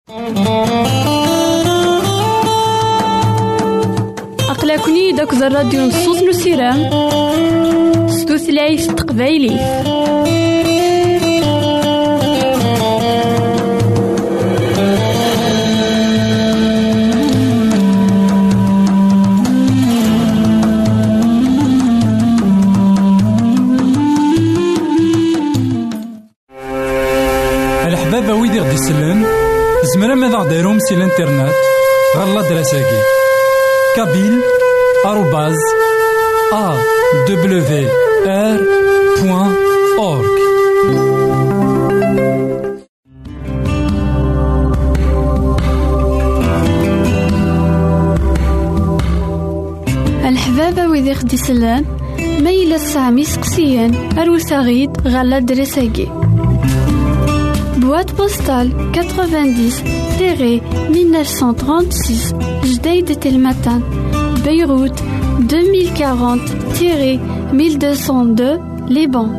أقلكني داك الراديو نصوص نسيران ستوثلايف تقبايلي. الحبابة ويدي غدي يسلن زمرا ماذا غديرهم سي الانترنت غالا دراساكي kabyle@awr.org. الحبابة ويدي غدي يسلن ميلا سامي سقسيان أروساغيد غالا دراساكي boîte postale 90-1936 Jdeï Telmatan Beyrouth 2040-1202 Liban.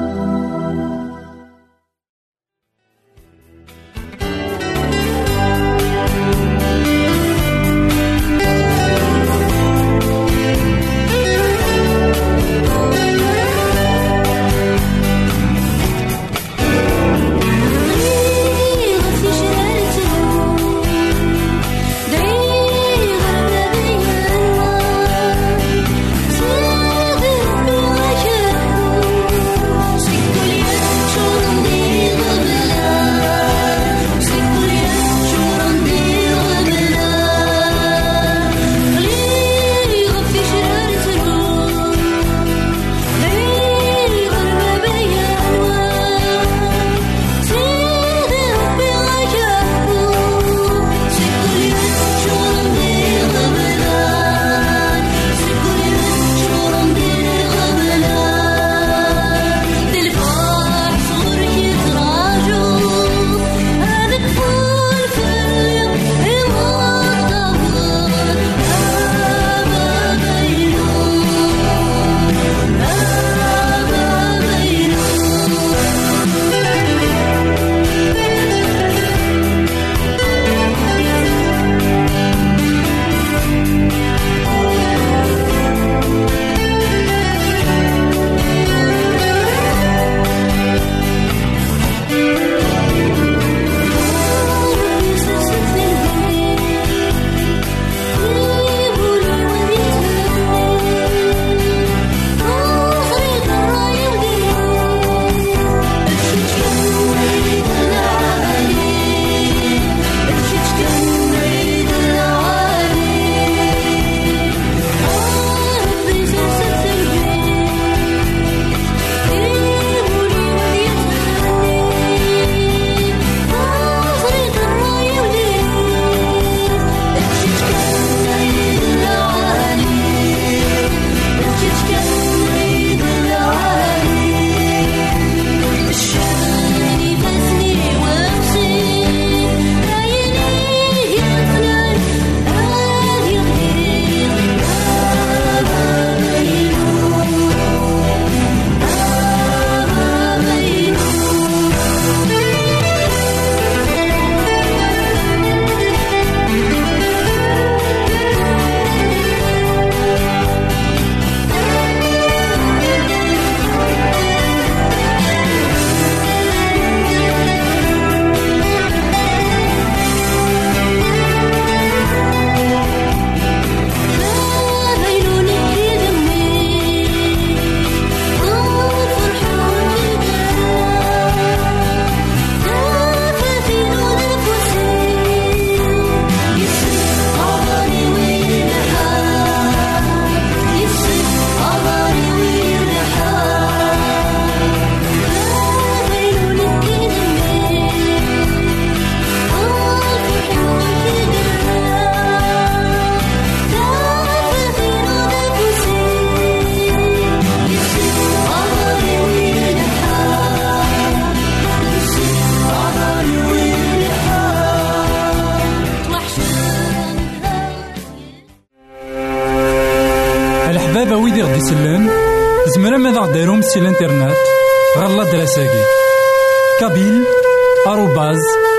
الحبابة ويدي غدي يسلن زمرا ماذا غديرهم سي الانترنت غالا دراساكي kabyle@awr.org.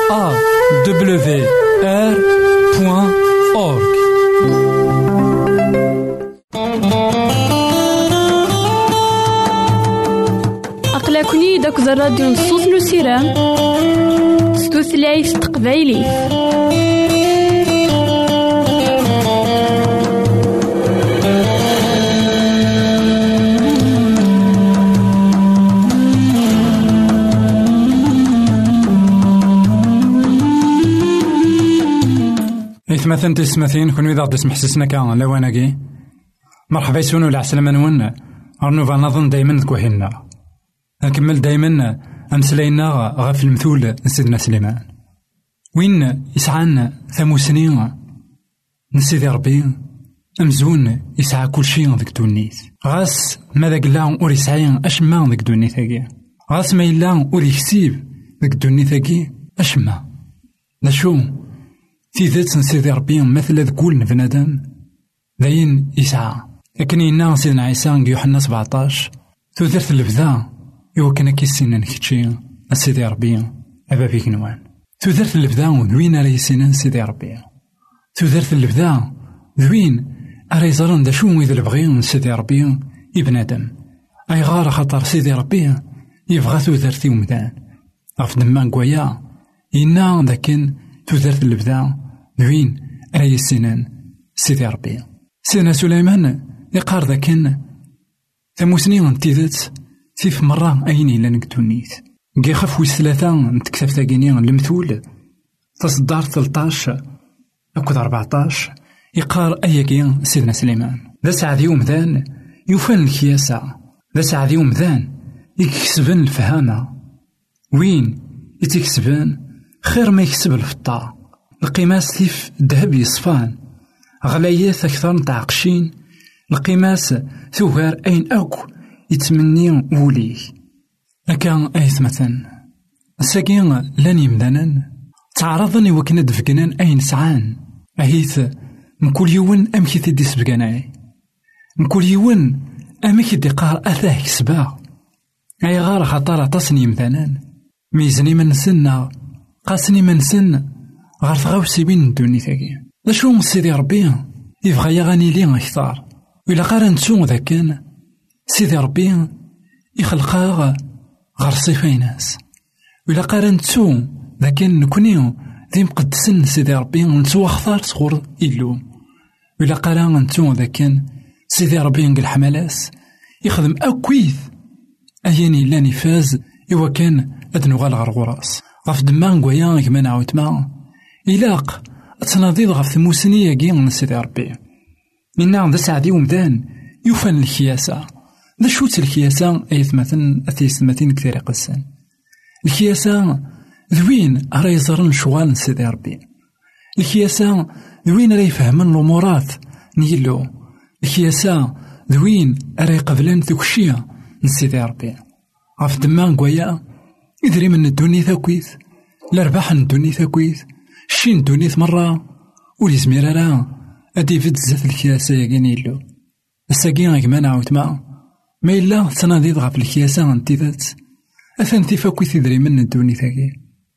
awr.org. أقلكني داك الراديو نصوص نسيران ستوثلايف تقبايلي. إثمثن تسمثين كون إذا غدي سمحسسنا كان لواناكي مرحبا يسونو العسلامة نون أرنوفا نظن دايما كوهينا نكمل دايما أمسلينا غاف المثول نسيدنا سليمان وين يسعانا ثموسنين نسيدي ربي أمزون يسعى كل شيء ذيك دونيت غاس ماذا قلا أوري سعين أشما ذيك دونيت هاكي غاس ما إلا أوري كسيب ذيك دونيت هاكي أشما نشو في ذات نسيدي ربي مثل ذكول بنادم ذاين يسعى لكن إنا سيدنا عيسى يوحنا 17 تودرت البدا إوا كان كيسينا نكتشي سيدي ربي أبابي كنوان تودرت البدا ذوين راه يسينا سيدي ربي تودرت البدا ذوين راه يزرن دا شو إذا البغي سيدي ربي ابن آدم أي غار خاطر سيدي ربي يبغى تودرتي ومدان غف دمان كوايا إنا ذاكن تودرت البدا ذوين راه يسينا سيدي ربي سيدنا سليمان يقار ذاكن ثموسنين تيذت تيف مرة أيني لنكتونيت كي خف ويس ثلاثة نتكتب ثاقيني المثول تصدار 13 أكد 14 يقار أياكي سيدنا سليمان ذا سعدي ومذان يوفن الكياسة ذا سعدي ومذان يكسبن الفهامة وين يتكسبن خير ما يكسب الفطا القيماس تيف الذهب يصفان غلايات أكثر نتعقشين القيماس ثوغار أين أكو يتمني وليه أكا أيثمثن الساقين لن يمدانا تعرضني وكنا دفقنان أين سعان أهيث مكل يون أمكي تدي سبقناي مكل يون أمكي دي قار أثاه كسبا أي غار خطارة تصني يمدانا ميزني من سنة قاسني من سن غار ثغاوسي بين الدوني ثاقي لاشو سيدي ربي يبغى يغني لي أكثر وإلا قارن تسو ذاكن سيدي ربي يخلقها غير صفاي ناس وإلا قارن تسو ذاكن نكونيو ذي مقدسن سيدي ربي نتسو أخطار صغور إلو وإلا قارن تسو ذاكن سيدي ربي نقل حملاس يخدم أكويث أياني لا نفاز إوا كان أدنو غالغر غراس غف دمان قويا كما نعاود ما إلاق أتناضيض غف ثموسنية كي سيدي ربي إنا ذا سعدي ومدان يوفن الكياسة ذا شوت الكياسة أيثمثن أثيثمثين كثير قسان الكياسة ذوين راه يزرن شوال سيدي ربي الكياسة ذوين راه يفهمن الأمورات نيلو الكياسة ذوين راه يقبلن ذوكشيا نسيدي ربي غف دمان كوايا يدري من الدوني ثاكويث الأرباح الدوني ثاكويث شين الدوني مرة وليزمير راه أدي فيد زات الكياسة ياكيني له الساقين كما نعاود ما إلا تناضيض غف الكياسة نتيذات أثن تيفاكوي تدري من الدوني ثاكي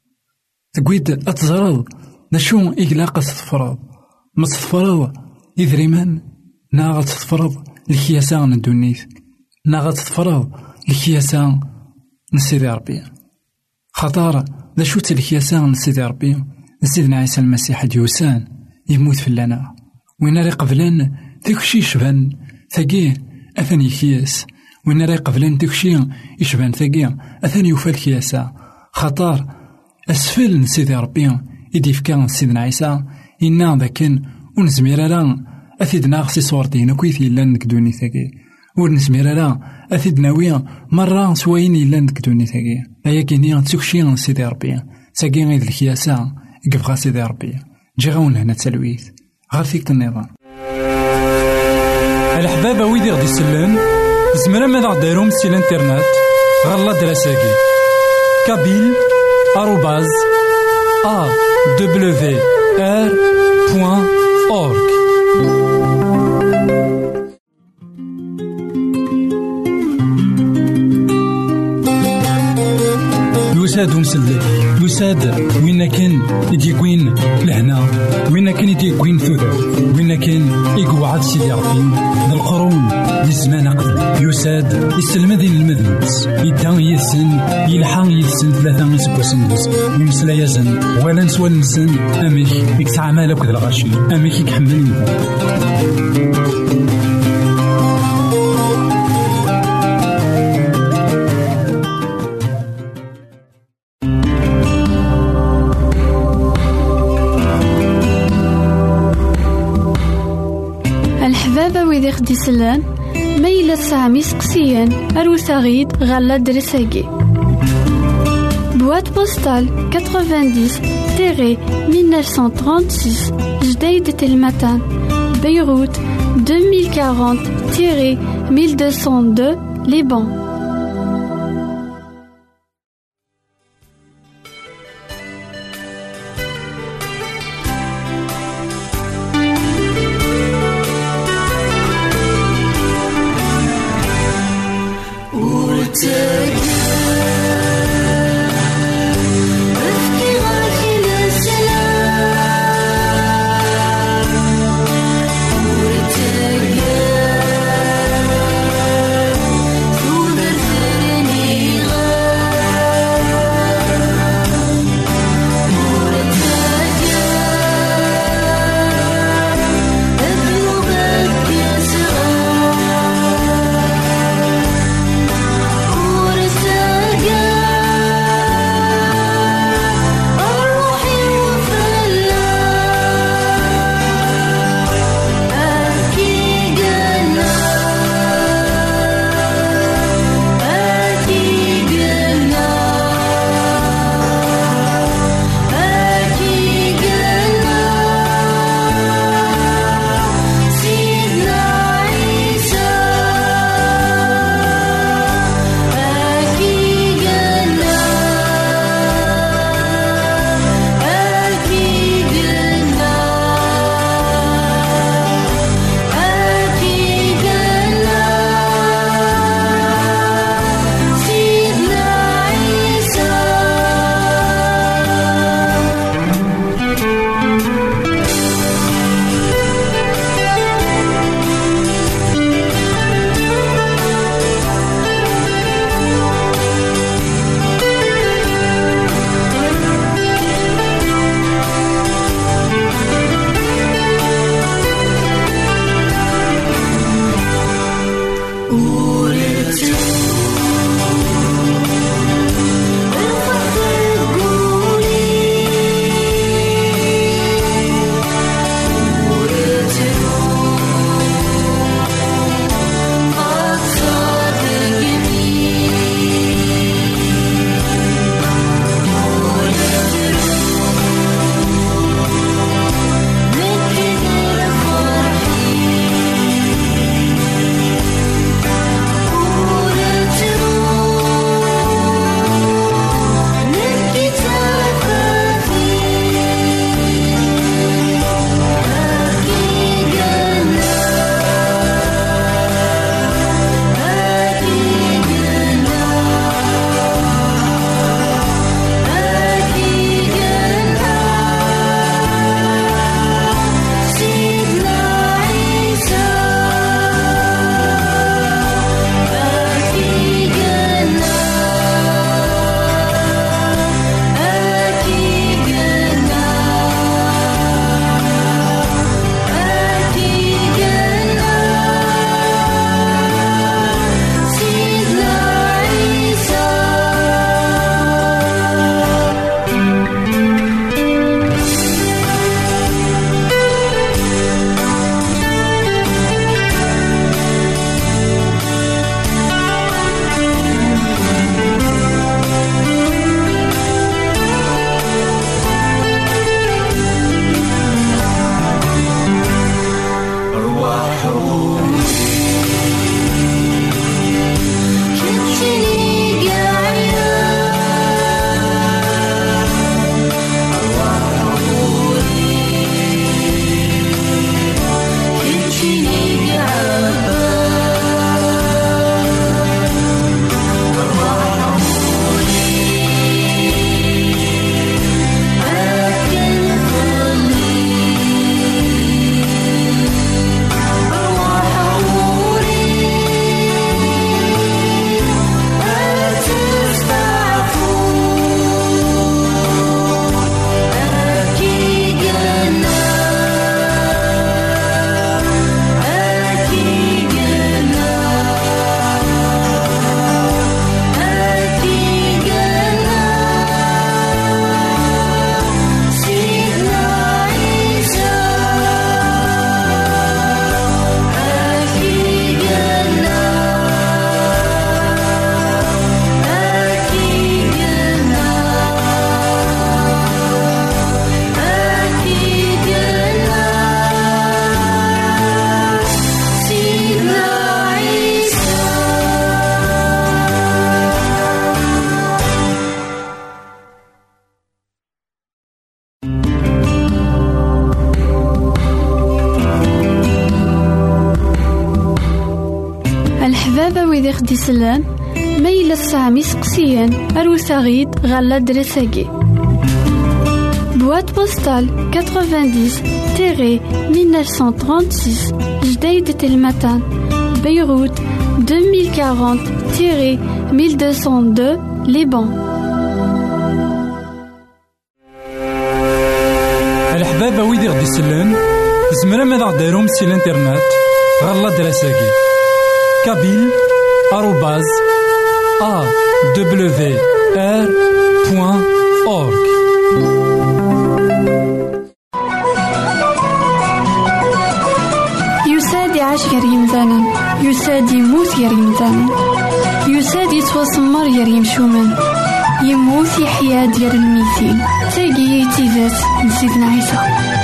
تقويد أتزرض نشو إقلاق تتفرض ما تتفرض يدري من ناغل تتفرض الكياسة ندونيث ناغل تتفرض الكياسة نسيدي ربي خطار نشو الكياسة نسيدي ربي نسيدنا عيسى المسيح ديوسان يموت في اللنا وين راه قبلن داكشي يشبان ثاقيه أثني كياس وين راه قبلن داكشي يشبان ثاقيه أثني يوفى الكياسة خطار أسفل نسيدي ربي يدي فكان سيدنا عيسى إنا ذاكن ونزمير راه أثيدنا غسي صورتين كويثي إلا نكدوني ثاقيه ونزمير راه أثيدنا ويا مرة سواين إلا نكدوني ثاقيه أيا كيني تسوكشي سيدي ربي ساقي غيد الكياسة يقفغا سيدي ربي جي غاون هنا تسلويث غير فيك النظام الحبابة ويدي غدي يسلم زمرا ماذا غديرهم سي الانترنت غالا دراساكي كابيل آروباز awr.org يساد مسلم يساد وين كان يديكوين لهنا وين كان يديكوين ثوثر وين كان يقعد سيدي ربي بالقرون للزمان قبل يساد يسلمذين المذنبس يدان يسن يلحان يسن ثلاثة يسبوسن بس يمسلا يزن ولا نسوى نسن أميك يكسع مالك ذا الغشي أميك يكحمل الحبابة ويدي خدي سلان ميلا سامي سقسيان أروساغيد غالا درساقي Boîte postale 90-1936 Jdeïd Telmatan Beyrouth 2040-1202 Liban. Through the ويدي خدي سلان ميلا السامي سقسيان أروساغيد غالا درساكي Boîte postale 90-1936 Jdeïd Telmatan Beyrouth 2040-1202 Liban. الحبابة ويدي غدي سلان زمرا ماذا غديرهم سي الانترنت غالا دراساكي كابيل @awr.org. يساد يعيش غير يمثالا يساد يموت غير يمثالا يساد يتوسمر غير يمشومان يموت يحيا ديال الميتين تاقي تيزات لسيدنا عيسى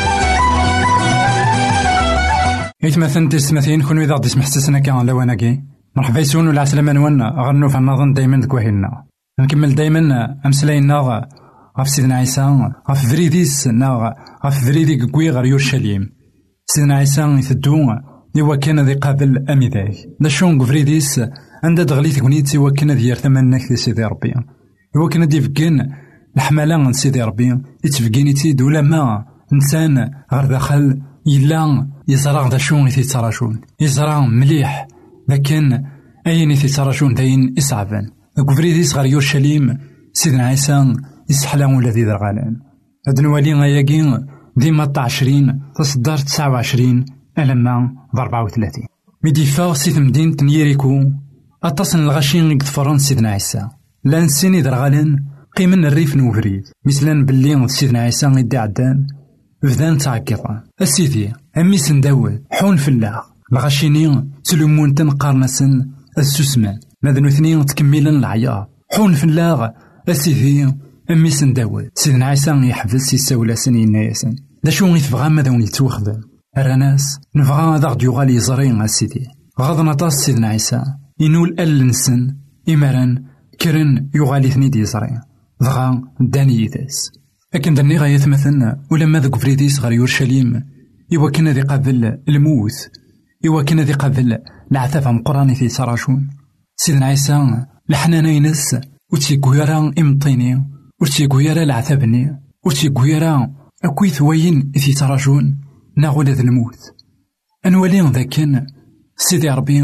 إثمثن تسمثين كون إذا غدي سمحسسنا كان لواناكي مرحبا يسون ولا عسلامة نوانا غنو في النظن دايما دكوهينا نكمل دايما أمسلاينا غف سيدنا عيسى غف فريديس غف فريدي كوي غير يورشليم سيدنا عيسى يثدو إوا كان ذي قابل أميداي داشون فريديس عندها دغلي تكونيت إوا كان ذي يرتمناك دي سيدي ربي إوا كان دي فكين الحملة عن سيدي ربي يتفكيني تيد ولا ما إنسان غير داخل إلا يزرع داشون يتيتراشون يزرع مليح لكن أين يتيتراشون داين إصعبان كفريديس غير يورشليم سيدنا عيسى يسحلام ولا ذي درغالان هاد نوالي غياكين ديما 20 تصدر 29 ألما ب 34 ميديفا سيت مدينة نيريكو أتصن الغاشين يقدفرون سيدنا عيسى لان سيني درغالان قيمن الريف نوفريد مثلا باللي سيدنا عيسى يدي عدان بدان تعقيطان السيدي أمي سنداول حون فلاغ الغاشيني تلومون تنقارنسن السوسمان ماذا اثنين تكملن العيار حون فلاغ السيدي أمي سنداول سيدنا عيسى يحفز يساولا سنين ياسن دا شو يتبغى ماذا ونيتوخدم الرناس نبغى هذا غد يغال يزرين السيدي غاض نطاس سيدنا عيسى ينول ألنسن إمران كرن يغالي ثنيد يزرين ضغا داني يداس لكن دني غاية مثلنا ولما ذاك فريديس غير يورشليم إوا كان ذي قبل الموت إوا كان ذي قبل العذاب مقراني في سراشون سيدنا عيسى لحنانا ينس وتيكويرا إمطيني وتيكويرا العذابني وتيكويرا أكوي ثوين في تراجون ناغول ذا الموت أنوالين ذاكن سيدي ربي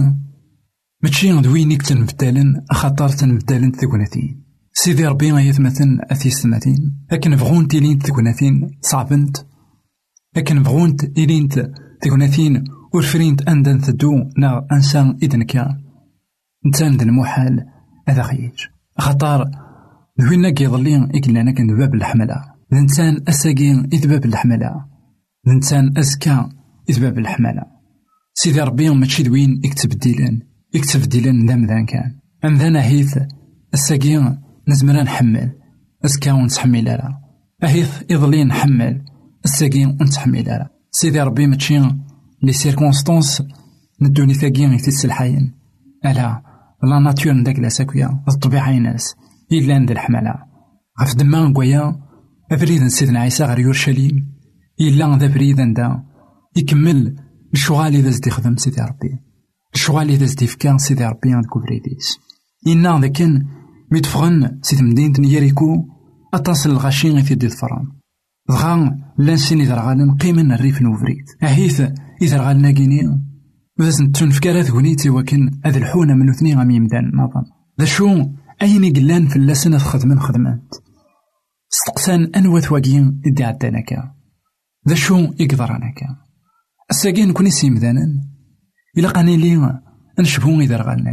ماشي دوينيك تنبدالن خاطر تنبدالن ثقناتين سيدي ربي يثمثن أثيستماتين لكن بغون تيلين ثقناتين صعبنت لكن بغون تيلين ثقناتين ورفرينت أندن ثدو نا أنسان إذن كان نتان ذا المحال هذا خيج خاطر دوينا كيظلين إكلانا كان باب الحملة الإنسان أساقين إذ باب الحملة الإنسان أزكى إذ باب الحملة سيدي ربي ماشي دوين يكتب ديلان دام ذان كان أم ذانا هيث أساقين نزمرا نحمل أزكى ونتحمل لها أهيث إظلين نحمل أساقين ونتحمل لها سيدي ربي ماشي لي سيركونستونس ندوني ثاقين يتس الحيين ألا لا ناتور نداك لاساكويا الطبيعة يناس إلا ندير الحملة غف دما نقويا أبريد سيدنا عيسى غير يورشليم إلا ذا بريد دا يكمل الشغال إذا زدي خدم سيدي ربي الشغال إذا زدي فكان سيدي ربي عند كوفريديس إنا ذا كان ميتفغن سيد مدينة نيريكو أتصل الغاشين في دي الفران ضغان لانسين إذا رغالن قيمن الريف نوفريد أهيث إذا رغالنا كيني وذا تنفكار ثغنيتي وكن هذا الحونة من اثنين غامي مدان نظام ذا شو أين قلان في اللسنة خدمات استقسان أنوى ثواقين إدي عدانكا ذا شو يقدرانكا الساقين كوني سيمدانا إلا قاني لي نشبهون إذا رغالنا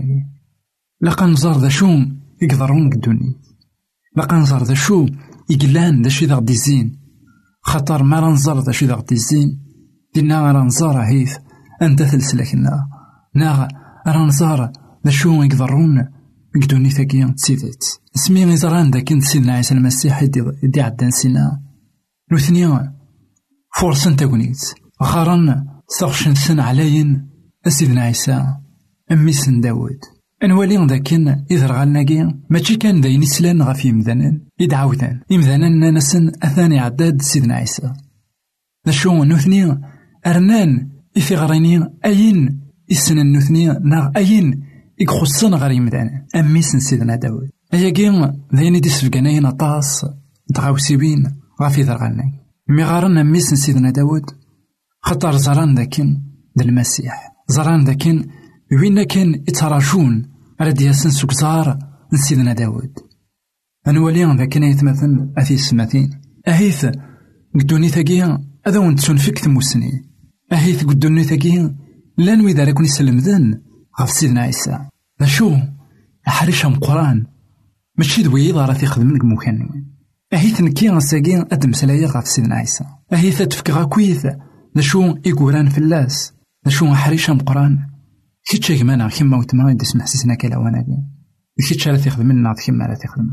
لقا نزار ذا شو يقدرون قدوني لقا نزار ذا شو يقلان ذا شي ذا غدي الزين خطر ما رنزار ذا شي ذا غدي الزين دينا رنزار هيث أنت ثلسلكنا نا رنزار ذا شو يقدرون قدوني ثاقيا تسيدت اسمي غيزران دا كنت سيدنا عيسى المسيح يدي عدان سينا نوثنيا فرصا تاكونيت غارن ثغشن سن عليين سيدنا عيسى أمي سن داود أنوالي ذاكن إذا رغالناكي ماشي كان داين يسلان غاف يمذانن يدعوثان يمذانن ناسن أثاني عداد سيدنا عيسى ذا شو نوثنيا أرنان إثي غريني أين إسنا نوثنيا ناغ أين يخصنا غير يمدانا أميس سيدنا داود أيا كين ذيني دي سفقانين طاس تغاوسيبين غافي ذرغالنا مي غارنا أميس سيدنا داود خطر زران ذاكين المسيح زران ذاكين وين كان يتراجون على دياسن سكزار سيدنا داود أنواليان ذاكين يتمثل أثي السماتين أهيث قدوني ثقيا هذا ونتسون فيك ثموسني أهيث قدوني ثقيا لا نوي ذا لكون يسلم ذن غف سيدنا عيسى ذا شو أحرشهم قرآن ماشي دوي راه تيخدم لك مكان أهيث نكي غساقين أدم سلايا غف سيدنا عيسى أهيث تفكغا كويث ذا شو يقولان في اللاس ذا شو أحرشهم قرآن كيتش يجمعنا كيما وتما يدي سمح سيسنا كلاوانا دي كيتش راه تيخدم لنا كيما راه تيخدم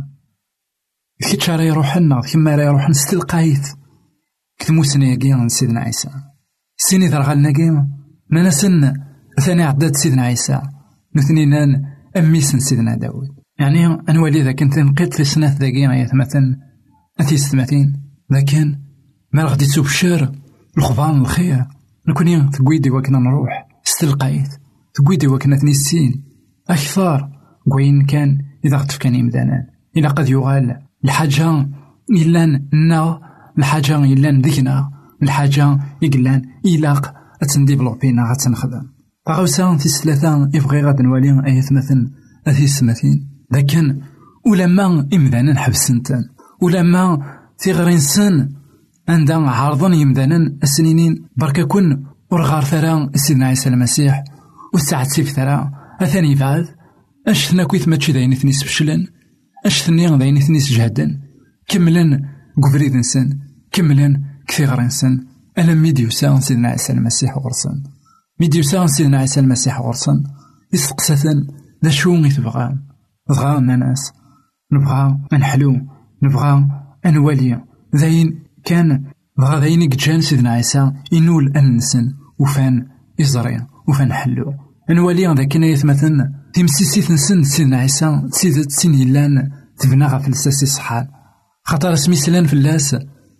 كيتش راه يروح لنا كيما راه يروح نستلقايث كتموسنا كيان سيدنا عيسى سيني ذرغالنا كيما ناسن ثاني عداد سيدنا عيسى نثنينان أميسن سيدنا داود يعني أنوالي ذا كنت نقيت في سنة ذا كيان يتمثل أثي ستماتين لكن ما غادي تبشر الخضان الخير نكوني تقويدي وكنا نروح استلقايت تقويدي وكنا تنسين أكثر قوين كان إذا غتفكاني مدانا إلا قد يغال الحاجة إلا نا الحاجة إلا ذكنا الحاجة إقلان إلاق أتنديفلوبينا غتنخدم فغوسا في الثلاثة يبغي غاد نوالي أيث مثل أثي السماتين لكن ولما إمدانا نحبسنتن ولما تيغرين سن عندها عارضن يمدانا السنينين بركا كن ورغار ثرا سيدنا عيسى المسيح والساعة سيف ثرا أثاني بعد أشتنا كويث ماتشي داين ثنيس فشلن أشتني داين ثنيس جهدن كملن قفريد نسن كملن كثير نسن أنا ميديوسا سيدنا عيسى المسيح غرسن ميديوسا سيدنا عيسى المسيح غرسن يسقسثن ذا شو يتبغى بغا ناس نبغى نحلو نبغى نولي ذاين كان بغا ذاين يجان سيدنا عيسى ينول أنسن وفان يزري وفان حلو نولي ذا كنا يتمثل تمسيسيت نسن سيدنا عيسى سيدت سين يلان تبنى غا فلساسي صحال خاطر اسمي سلان في اللاس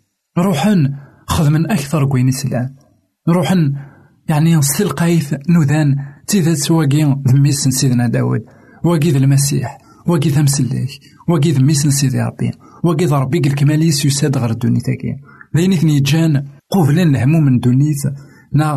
روحن خدمن أكثر كوين سلان روحن يعني نستلقايث نوذان تيذات سواقين ذميسن سيدنا داود واقيذ المسيح واقيذ مسليك واقيذ ميسن سيدي ربي واقيذ ربي الكماليس يساد غير الدوني تاكين ذين اثني جان قوفلن الهموم من دونيث نا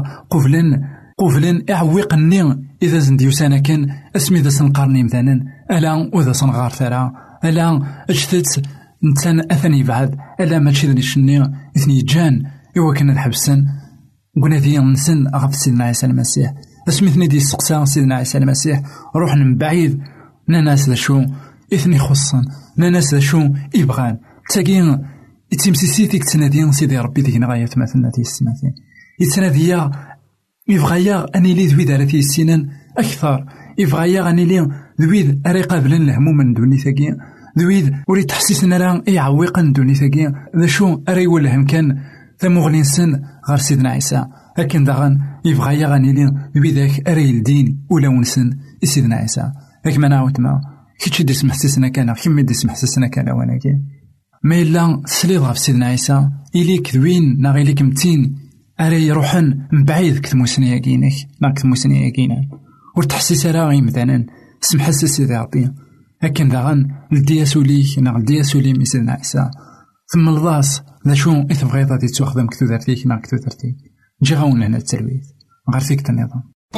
قوفلن اعويقني اذا زنديوسانا كان اسمي ذا سنقارني مثلا الا وذا سنغار ثرا الا اجتت نتسان اثني بعد الا ماشي ذني شني اثني جان ايوا كنا نحبسن قلنا ذي نسن اغف سيدنا عيسى المسيح اسمي دي السقسا سيدنا عيسى المسيح روح من بعيد ناس ذا شو اثني خصن ناس ذا شو يبغان تاقين يتمسيسيتيك تنادين سيدي ربي ذيك غاية مثلنا في السماثين يتناديا يبغايا اني لي ذوي دارتي السنان اكثر يبغايا اني لي ذوي اري قابلن الهموم من دوني ثقيا ذوي وري تحسسنا راه يعوقن دوني ثقيا ذا شو اري ولهم كان ثمغلين سن غير سيدنا عيسى لكن داغن يبغايا غاني لي ذوي ذاك اري الدين ولا ونسن سيدنا عيسى لكن ما نعاود ما كيتش دي سمح حسسنا كان كيما دي سمح حسسنا كان وانا كي ما إلا سليض غف سيدنا عيسى إليك ذوين نا غيليك متين أري يروحن من بعيد كتموسني ياكينك نا كتموسني ياكينا ورتحسيس راغي مثلا سمح حسس سيدي ربي لكن داغن لدياسوليك نا لدياسولي من سيدنا عيسى ثم الضاس ذا شو إثبغي غادي تخدم كتودرتيك نا كتودرتيك نجي غاون هنا التلويث غير فيك النظام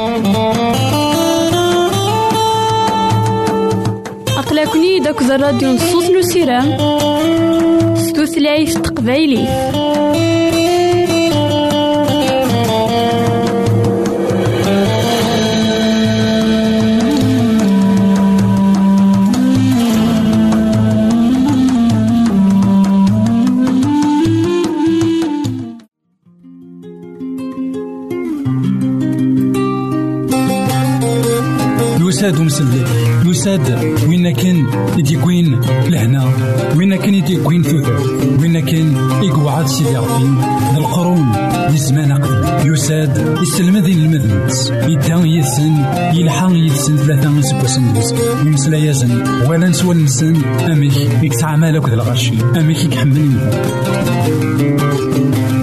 أقلكني داك الراديو نصوص نسيران ستوثلايف تقبايلي يساد ومسلي يساد وين كان يديكوين لهنا وين كان يديكوين ثوثر وين كان يقعد سيدي ربي القرون لزمان قدم يساد يسلم ذي المذنبس يدان يسن يلحق يسن ثلاثة يسبوسن يمسلا يزن ولا نسوى نسن أميك يكتعمل لك الغرشي أميك يكحمل